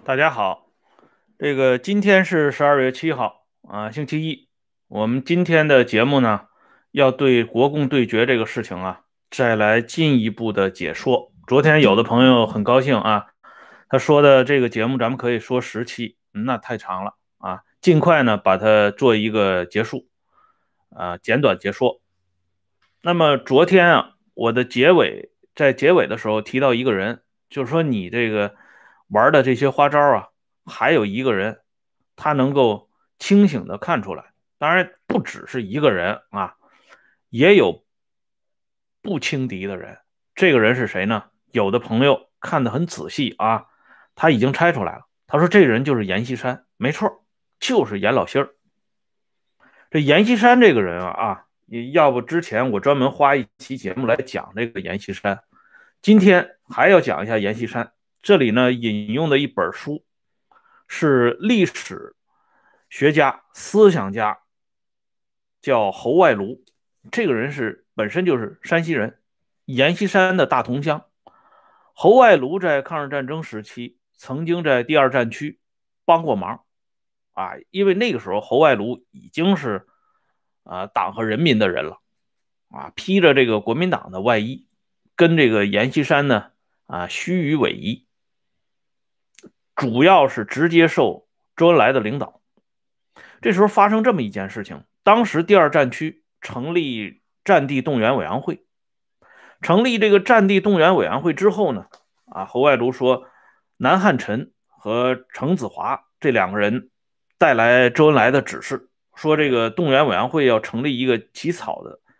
大家好，今天是12月7号啊，星期一。我们今天的节目呢，要对国共对决这个事情啊，再来进一步的解说。昨天有的朋友很高兴啊，他说的这个节目咱们可以说10期，那太长了啊，尽快呢把它做一个结束啊，简短结说。那么昨天啊，我的在结尾的时候提到一个人，就是说你这个玩的这些花招啊，还有一个人，他能够清醒的看出来。当然不只是一个人啊，也有不轻敌的人。这个人是谁呢？有的朋友看得很仔细啊，他已经猜出来了。他说这人就是阎锡山，没错，就是阎老心儿。这阎锡山这个人要不之前我专门花一期节目来讲这个阎锡山，今天还要讲一下阎锡山。这里呢引用的一本书是历史学家、思想家，叫侯外庐。这个人本身就是山西人，阎锡山的大同乡。侯外庐在抗日战争时期曾经在第二战区帮过忙啊，因为那个时候侯外庐已经是党和人民的人了啊，披着这个国民党的外衣，跟这个阎锡山呢虚与委蛇，主要是直接受周恩来的领导。这时候发生这么一件事情，当时第二战区成立战地动员委员会，成立这个战地动员委员会之后呢，侯外庐说，南汉宸和程子华这两个人带来周恩来的指示，说这个动员委员会要成立一个起草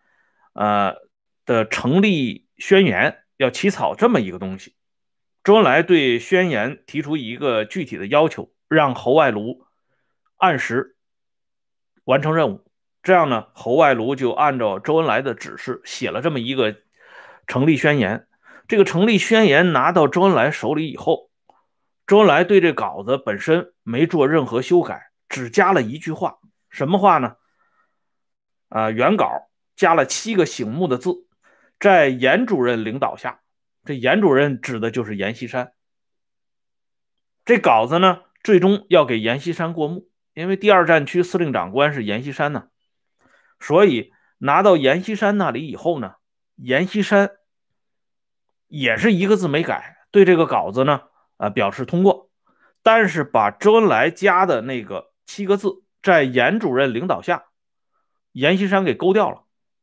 的成立宣言，要起草这么一个东西。周恩来对宣言提出一个具体的要求，让侯外庐按时完成任务。这样呢，侯外庐就按照周恩来的指示写了这么一个成立宣言。这个成立宣言拿到周恩来手里以后，周恩来对这稿子本身没做任何修改，只加了一句话，什么话呢？原稿加了7个醒目的字，在阎主任领导下，这阎主任指的就是阎锡山。这稿子呢，最终要给阎锡山过目，因为第二战区司令长官是阎锡山呢，所以拿到阎锡山那里以后呢，阎锡山也是一个字没改，对这个稿子呢，表示通过，但是把周恩来加的那个7个字，在阎主任领导下，阎锡山给勾掉了。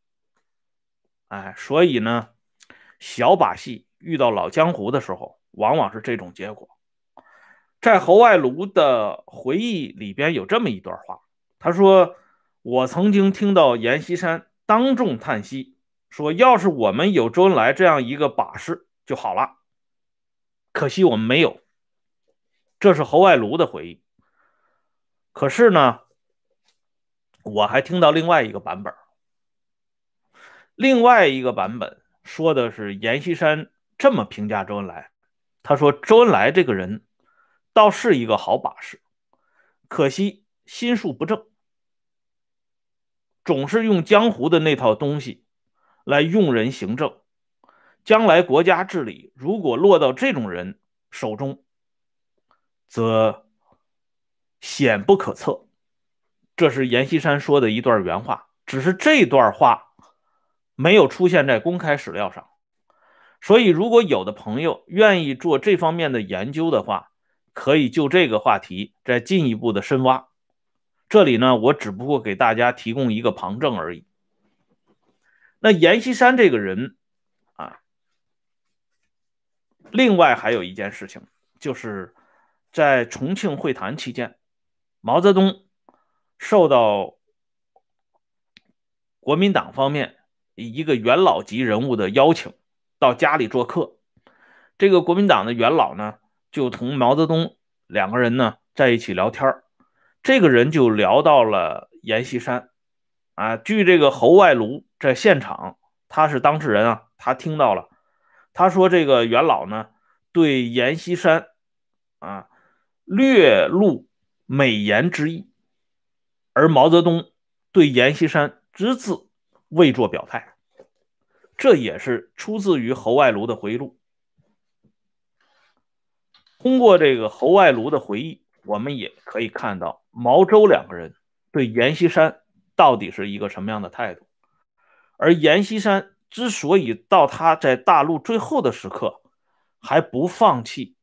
所以呢，小把戏遇到老江湖的时候，往往是这种结果。在侯外庐的回忆里边有这么一段话，他说：“我曾经听到阎锡山当众叹息，说要是我们有周恩来这样一个把式就好了，可惜我们没有。”这是侯外庐的回忆。可是呢，我还听到另外一个版本，另外一个版本说的是阎锡山这么评价周恩来，他说周恩来这个人倒是一个好把式，可惜心术不正，总是用江湖的那套东西来用人行政，将来国家治理如果落到这种人手中，则险不可测。这是阎锡山说的一段原话，只是这段话没有出现在公开史料上。所以如果有的朋友愿意做这方面的研究的话，可以就这个话题再进一步的深挖。这里呢，我只不过给大家提供一个旁证而已。那阎锡山这个人另外还有一件事情，就是在重庆会谈期间，毛泽东受到国民党方面一个元老级人物的邀请，到家里做客。这个国民党的元老呢，就同毛泽东两个人呢在一起聊天，这个人就聊到了阎锡山据这个侯外庐在现场，他是当事人他听到了，他说这个元老呢对阎锡山略露美言之意，而毛泽东对阎锡山只字未作表态。这也是出自于侯外庐的回忆录。 通过这个侯外庐的回忆，我们也可以看到毛周两个人对阎锡山到底是一个什么样的态度。而阎锡山之所以到他在大陆最后的时刻还不放弃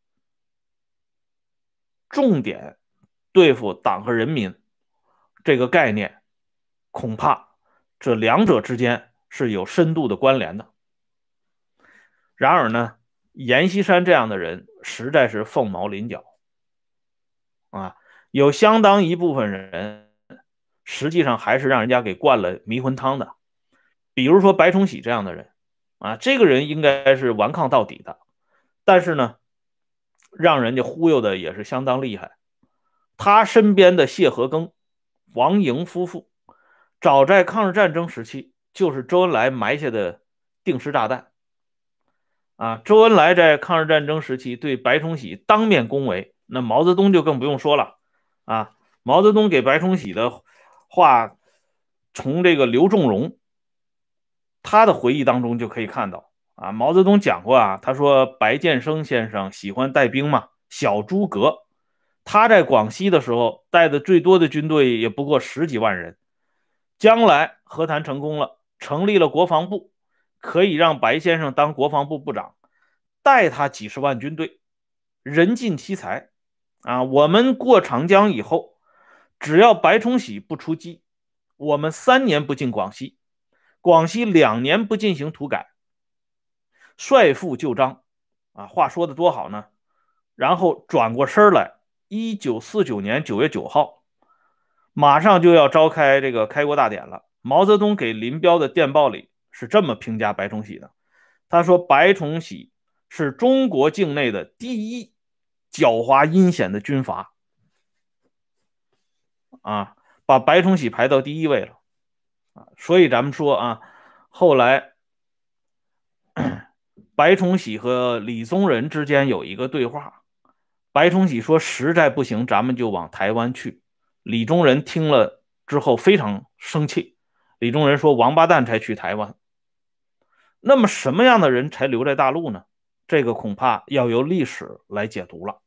重点对付党和人民这个概念，恐怕这两者之间是有深度的关联的。然而呢，阎锡山这样的人实在是凤毛麟角啊，有相当一部分人实际上还是让人家给灌了迷魂汤的。比如说白崇禧这样的人啊，这个人应该是顽抗到底的，但是呢，让人家忽悠的也是相当厉害。他身边的谢和庚、王莹夫妇，早在抗日战争时期就是周恩来埋下的定时炸弹啊。周恩来在抗日战争时期对白崇禧当面恭维，那毛泽东就更不用说了啊。毛泽东给白崇禧的话，从这个刘仲荣他的回忆当中就可以看到啊。毛泽东讲过啊，他说白建生先生喜欢带兵嘛，小诸葛。他在广西的时候带的最多的军队也不过10几万人。将来和谈成功了，成立了国防部，可以让白先生当国防部部长，带他几十万军队，人尽其才啊！我们过长江以后，只要白崇禧不出击，我们3年不进广西，广西2年不进行土改，率复旧章啊！话说的多好呢！然后转过身来，1949年9月9号，马上就要召开这个开国大典了。毛泽东给林彪的电报里是这么评价白崇禧的，他说白崇禧是中国境内的第一狡猾阴险的军阀啊，把白崇禧排到第1位了啊。所以咱们说啊，后来白崇禧和李宗仁之间有一个对话，白崇禧说实在不行咱们就往台湾去。李宗仁听了之后非常生气，李宗仁说王八蛋才去台湾。那么什么样的人才留在大陆呢？这个恐怕要由历史来解读了。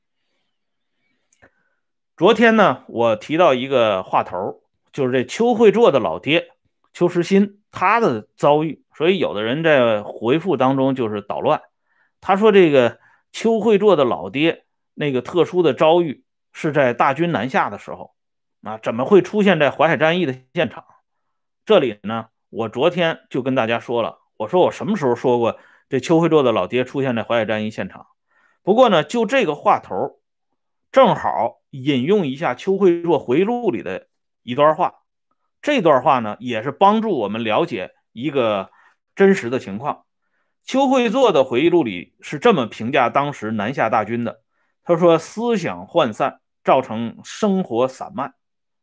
昨天呢，我提到一个话头，就是这邱会作的老爹邱实新他的遭遇，所以有的人在回复当中就是捣乱。他说这个邱会作的老爹那个特殊的遭遇是在大军南下的时候啊，怎么会出现在淮海战役的现场？这里呢，我昨天就跟大家说了，我说我什么时候说过这邱会作的老爹出现在淮海战役现场？不过呢，就这个话头，正好引用一下邱会作回忆录里的一段话。这段话呢，也是帮助我们了解一个真实的情况。邱会作的回忆录里是这么评价当时南下大军的，他说思想涣散，造成生活散漫，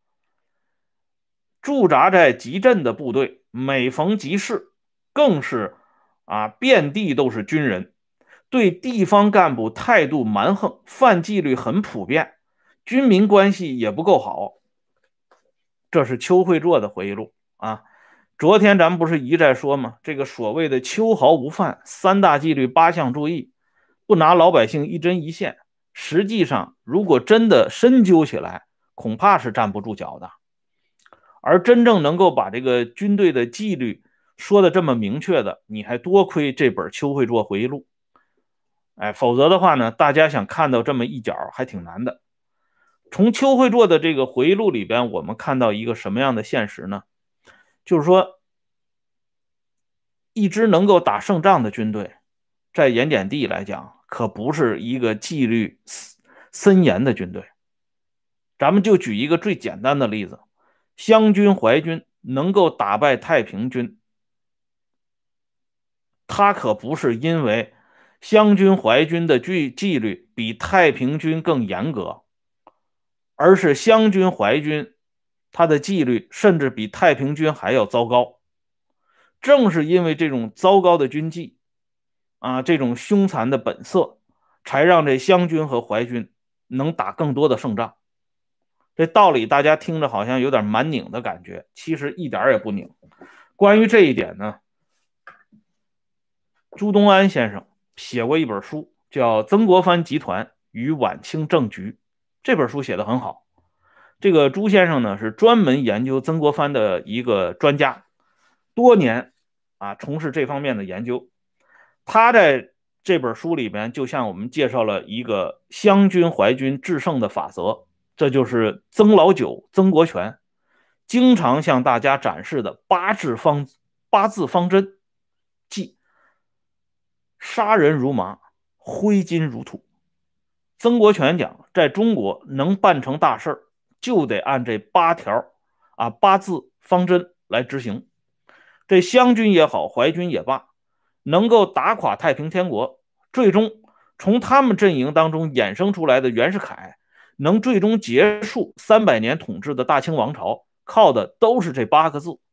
驻扎在集镇的部队每逢集市更是遍地都是军人，对地方干部态度蛮横，犯纪律很普遍，军民关系也不够好。这是邱会作的回忆录啊。昨天咱们不是一再说吗？这个所谓的秋毫无犯，3大纪律8项注意，不拿老百姓一针一线，实际上如果真的深究起来，恐怕是站不住脚的。而真正能够把这个军队的纪律说的这么明确的，你还多亏这本邱会作回忆录。否则的话呢，大家想看到这么一角还挺难的。从邱会作的这个回忆录里边，我们看到一个什么样的现实呢？就是说，一支能够打胜仗的军队，在盐碱地来讲，可不是一个纪律森严的军队。咱们就举一个最简单的例子，湘军、淮军能够打败太平军，他可不是因为湘军、淮军的纪律比太平军更严格，而是湘军、淮军他的纪律甚至比太平军还要糟糕。正是因为这种糟糕的军纪这种凶残的本色，才让这湘军和淮军能打更多的胜仗。这道理大家听着好像有点蛮拧的感觉，其实一点也不拧。关于这一点呢，朱东安先生写过一本书，叫《曾国藩集团与晚清政局》这本书写得很好。这个朱先生呢是专门研究曾国藩的一个专家，多年从事这方面的研究。他在这本书里边就向我们介绍了一个湘军淮军制胜的法则，这就是曾老九曾国荃经常向大家展示的八字方针，即杀人如麻，挥金如土。曾国荃讲，在中国能办成大事就得按这八字方针来执行。这湘军也好，淮军也罢，能够打垮太平天国，最终从他们阵营当中衍生出来的袁世凯能最终结束300年统治的大清王朝，靠的都是这8个字。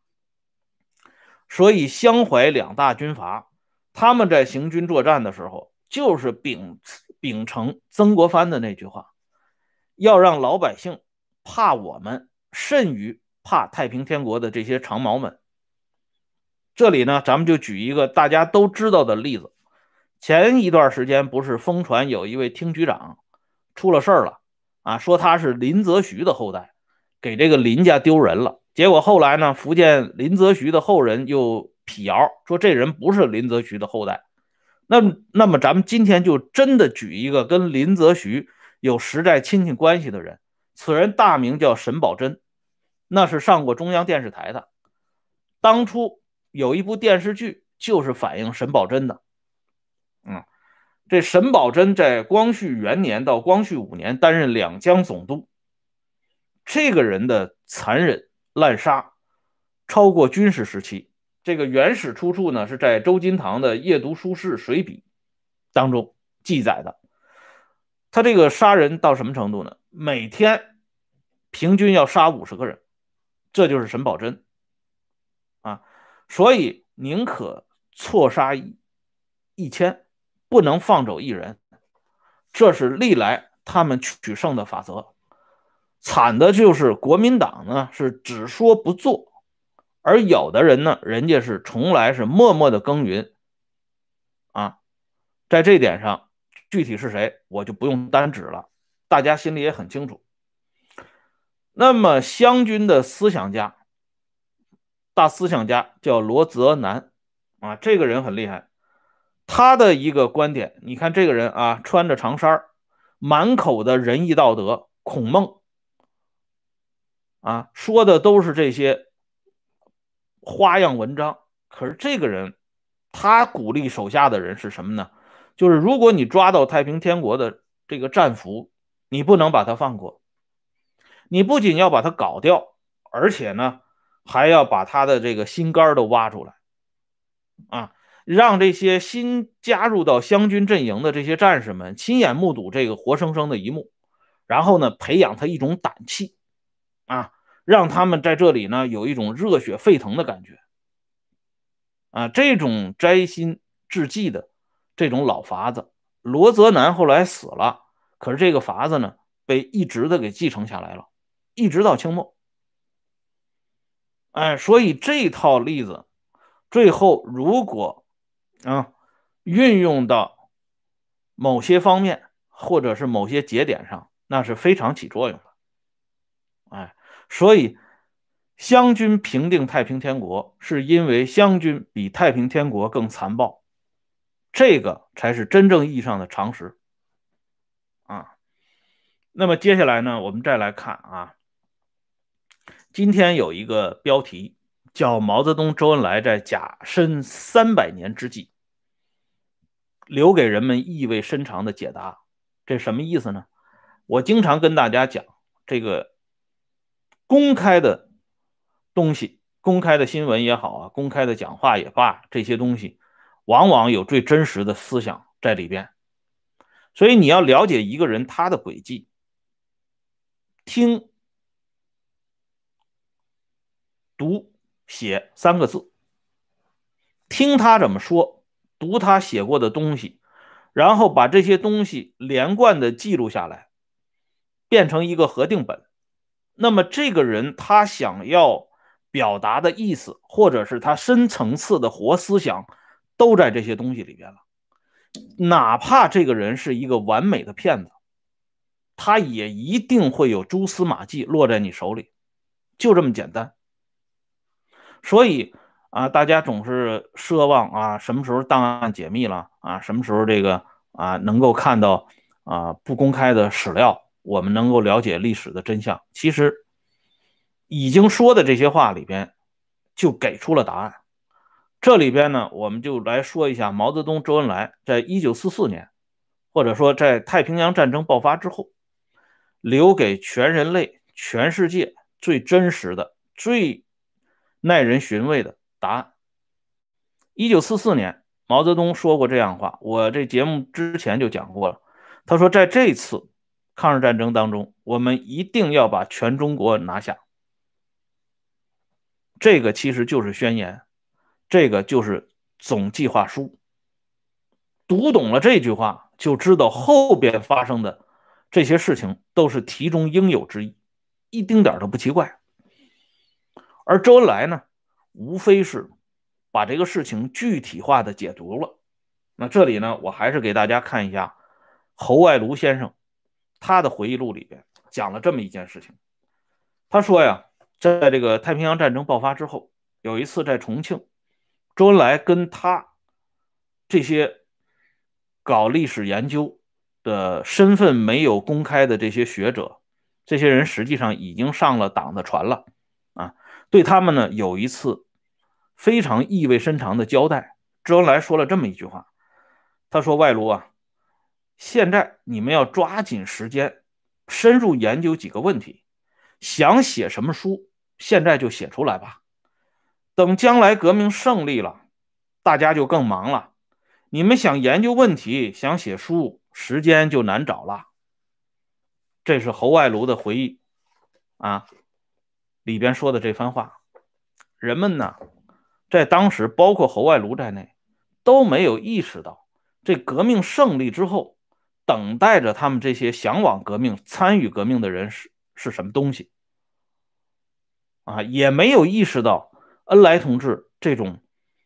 所以湘淮两大军阀他们在行军作战的时候，就是秉承曾国藩的那句话，要让老百姓怕我们甚于怕太平天国的这些长毛们。这里呢，咱们就举一个大家都知道的例子。前一段时间不是疯传有一位厅局长出了事儿了说他是林则徐的后代，给这个林家丢人了。结果后来呢，福建林则徐的后人又辟谣说这人不是林则徐的后代。那么咱们今天就真的举一个跟林则徐有实在亲戚关系的人，此人大名叫沈葆桢，那是上过中央电视台的。当初有一部电视剧就是反映沈葆桢的。这沈葆桢在光绪元年到光绪5年担任两江总督，这个人的残忍滥杀超过军事时期。这个原始出处呢是在周金堂的夜读书室随笔当中记载的。他这个杀人到什么程度呢？每天平均要杀50个人，这就是沈葆桢所以宁可错杀1000，不能放走1人，这是历来他们取胜的法则。惨的就是国民党呢是只说不做，而有的人呢，人家是从来是默默的耕耘在这点上具体是谁我就不用单指了，大家心里也很清楚。那么湘军的大思想家叫罗泽南这个人很厉害。他的一个观点，你看这个人穿着长衫，满口的仁义道德孔孟说的都是这些花样文章。可是这个人他鼓励手下的人是什么呢？就是如果你抓到太平天国的这个战俘，你不能把他放过，你不仅要把他搞掉，而且呢还要把他的这个心肝都挖出来让这些新加入到湘军阵营的这些战士们亲眼目睹这个活生生的一幕，然后呢培养他一种胆气让他们在这里呢有一种热血沸腾的感觉这种摘心治计的这种老法子，罗泽南后来死了，可是这个法子呢被一直的给继承下来了，一直到清末。所以这套例子最后如果运用到某些方面或者是某些节点上，那是非常起作用的。所以湘军平定太平天国是因为湘军比太平天国更残暴，这个才是真正意义上的常识那么接下来呢，我们再来看今天有一个标题叫毛泽东、周恩来在甲申300年之际留给人们意味深长的解答。这什么意思呢？我经常跟大家讲，这个公开的东西，公开的新闻也好公开的讲话也罢，这些东西往往有最真实的思想在里边。所以你要了解一个人他的轨迹，听、读、写3个字，听他怎么说，读他写过的东西，然后把这些东西连贯的记录下来，变成一个核定本。那么这个人他想要表达的意思，或者是他深层次的活思想，都在这些东西里边了。 哪怕这个人是一个完美的骗子，他也一定会有蛛丝马迹落在你手里，就这么简单。所以大家总是奢望什么时候档案解密了什么时候这个能够看到不公开的史料，我们能够了解历史的真相。其实已经说的这些话里边就给出了答案。这里边呢，我们就来说一下毛泽东、周恩来在1944年，或者说在太平洋战争爆发之后，留给全人类、全世界最真实的、最耐人寻味的答案。1944年，毛泽东说过这样话，我这节目之前就讲过了。他说，在这次抗日战争当中，我们一定要把全中国拿下。这个其实就是宣言，这个就是总计划书。读懂了这句话，就知道后边发生的这些事情都是题中应有之义，一丁点都不奇怪。而周恩来呢，无非是把这个事情具体化的解读了。那这里呢，我还是给大家看一下侯外庐先生他的回忆录里边讲了这么一件事情。他说呀，在这个太平洋战争爆发之后，有一次在重庆，周恩来跟他这些搞历史研究的身份没有公开的这些学者，这些人实际上已经上了党的船了对他们呢有一次非常意味深长的交代。周恩来说了这么一句话，他说：外庐现在你们要抓紧时间，深入研究几个问题，想写什么书，现在就写出来吧。等将来革命胜利了，大家就更忙了。你们想研究问题，想写书，时间就难找了。这是侯外庐的回忆里边说的这番话。人们呢，在当时，包括侯外庐在内，都没有意识到这革命胜利之后，等待着他们这些向往革命、参与革命的人是什么东西也没有意识到恩来同志这种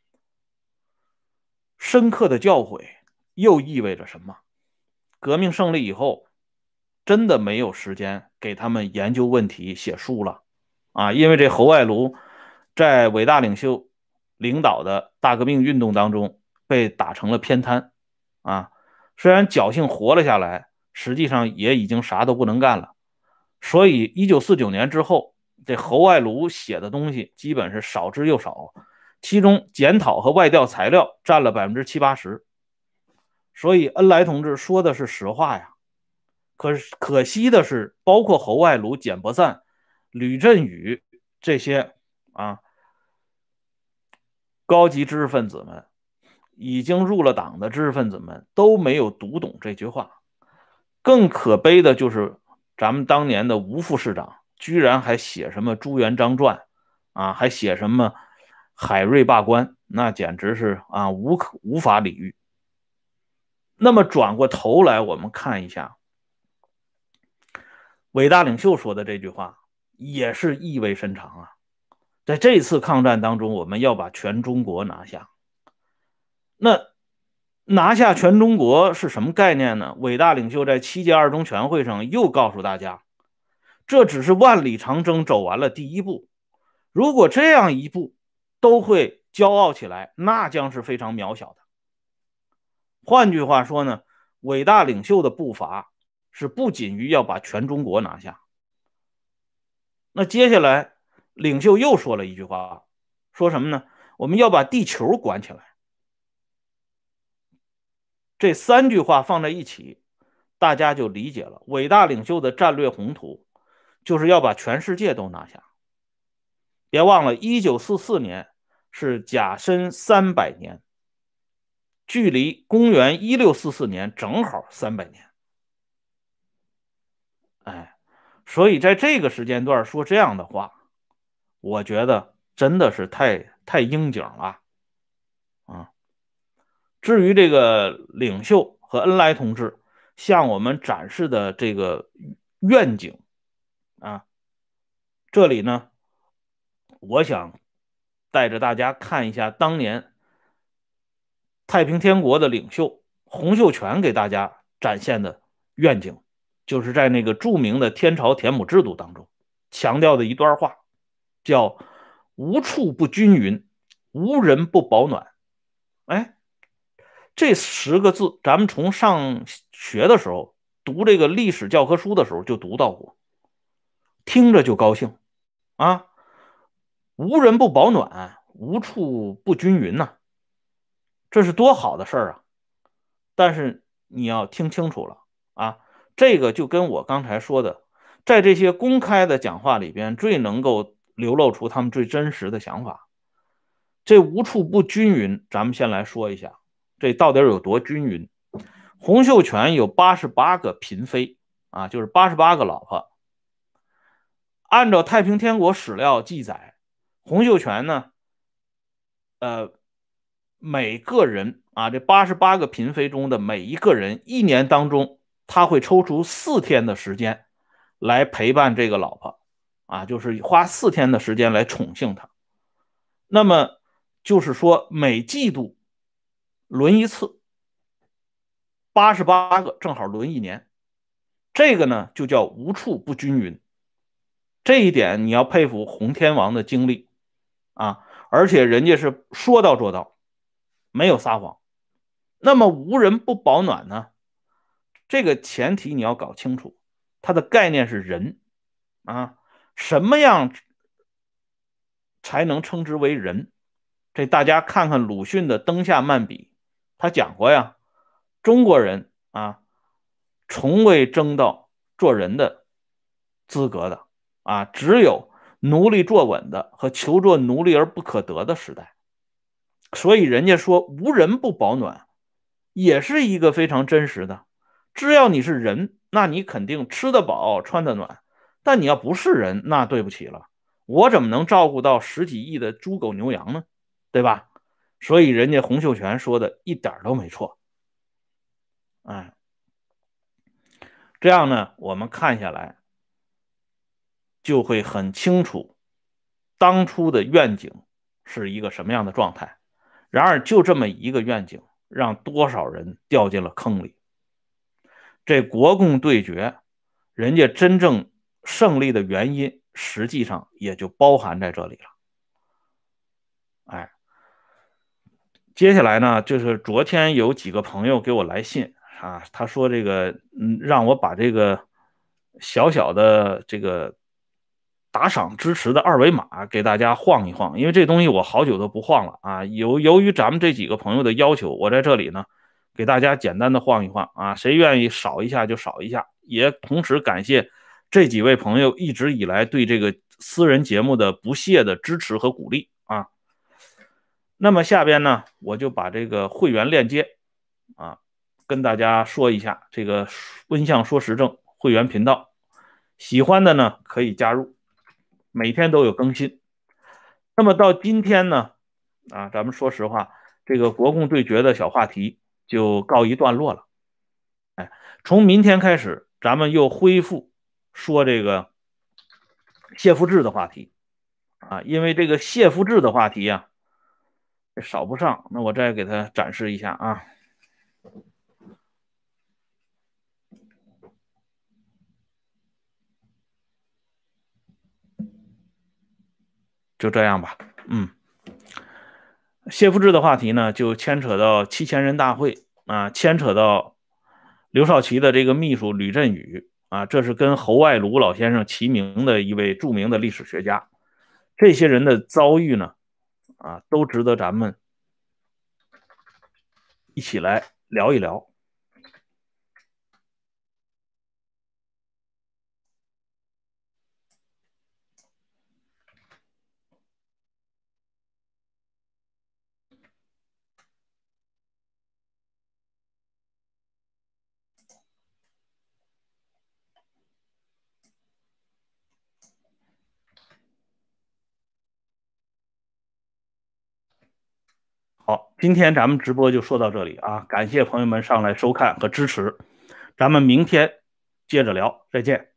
深刻的教诲又意味着什么。革命胜利以后，真的没有时间给他们研究问题、写书了因为这侯外庐在伟大领袖领导的大革命运动当中被打成了偏瘫虽然侥幸活了下来，实际上也已经啥都不能干了。所以1949年之后，这侯外庐写的东西基本是少之又少，其中检讨和外调材料占了70%-80%。所以恩来同志说的是实话呀。可惜的是，包括侯外庐、简伯赞、吕振宇这些高级知识分子们，已经入了党的知识分子们都没有读懂这句话。更可悲的就是咱们当年的吴副市长，居然还写什么朱元璋传还写什么海瑞罢官，那简直是无法理喻。那么转过头来，我们看一下伟大领袖说的这句话，也是意味深长在这次抗战当中，我们要把全中国拿下。那拿下全中国是什么概念呢？伟大领袖在7届二中全会上又告诉大家，这只是万里长征走完了第一步。如果这样一步都会骄傲起来，那将是非常渺小的。换句话说呢，伟大领袖的步伐是不仅于要把全中国拿下。那接下来领袖又说了一句话，说什么呢？我们要把地球管起来。这3句话放在一起，大家就理解了伟大领袖的战略宏图，就是要把全世界都拿下。别忘了1944年是甲申300年，距离公元1644年正好300年。所以在这个时间段说这样的话，我觉得真的是太应景了至于这个领袖和恩来同志向我们展示的这个愿景这里呢，我想带着大家看一下当年太平天国的领袖洪秀全给大家展现的愿景，就是在那个著名的天朝田亩制度当中强调的一段话，叫"无处不均匀，无人不保暖"。哎，这10个字，咱们从上学的时候读这个历史教科书的时候就读到过，听着就高兴啊！无人不保暖，无处不均匀呐、这是多好的事儿啊！但是你要听清楚了啊，这个就跟我刚才说的，在这些公开的讲话里边，最能够流露出他们最真实的想法。这无处不均匀，咱们先来说一下，这到底有多均匀？洪秀全有88个嫔妃啊，就是88个老婆。按照太平天国史料记载，洪秀全呢，每个人啊，这88个嫔妃中的每一个人，一年当中他会抽出4天的时间来陪伴这个老婆啊，就是花4天的时间来宠幸她。那么就是说，每季度轮一次，88个正好轮一年，这个呢就叫无处不均匀。这一点你要佩服洪天王的精力啊，而且人家是说到做到，没有撒谎。那么无人不保暖呢？这个前提你要搞清楚，它的概念是人啊，什么样才能称之为人？这大家看看鲁迅的《灯下漫笔》，他讲过呀，中国人啊，从未争到做人的资格的啊，只有奴隶坐稳的和求做奴隶而不可得的时代。所以人家说无人不保暖，也是一个非常真实的。只要你是人，那你肯定吃得饱穿得暖。但你要不是人，那对不起了，我怎么能照顾到10几亿的猪狗牛羊呢？对吧？所以人家洪秀全说的一点都没错。哎，这样呢，我们看下来就会很清楚当初的愿景是一个什么样的状态。然而，就这么一个愿景，让多少人掉进了坑里。这国共对决，人家真正胜利的原因，实际上也就包含在这里了。哎，接下来呢，就是昨天有几个朋友给我来信啊，他说这个，让我把这个小小的这个打赏支持的二维码给大家晃一晃，因为这东西我好久都不晃了啊。由于咱们这几个朋友的要求，我在这里呢给大家简单的晃一晃啊，谁愿意少一下就少一下，也同时感谢这几位朋友一直以来对这个私人节目的不懈的支持和鼓励啊。那么下边呢，我就把这个会员链接啊跟大家说一下，这个温相说时政会员频道，喜欢的呢可以加入，每天都有更新。那么到今天呢，啊，咱们说实话，这个国共对决的小话题就告一段落了。哎，从明天开始，咱们又恢复说这个谢富治的话题啊，因为这个谢富治的话题啊，少不上。那我再给他展示一下啊，就这样吧。谢富治的话题呢，就牵扯到7000人大会啊，牵扯到刘少奇的这个秘书吕振宇啊，这是跟侯外庐老先生齐名的一位著名的历史学家。这些人的遭遇呢，啊，都值得咱们一起来聊一聊。好，今天咱们直播就说到这里啊，感谢朋友们上来收看和支持，咱们明天接着聊，再见。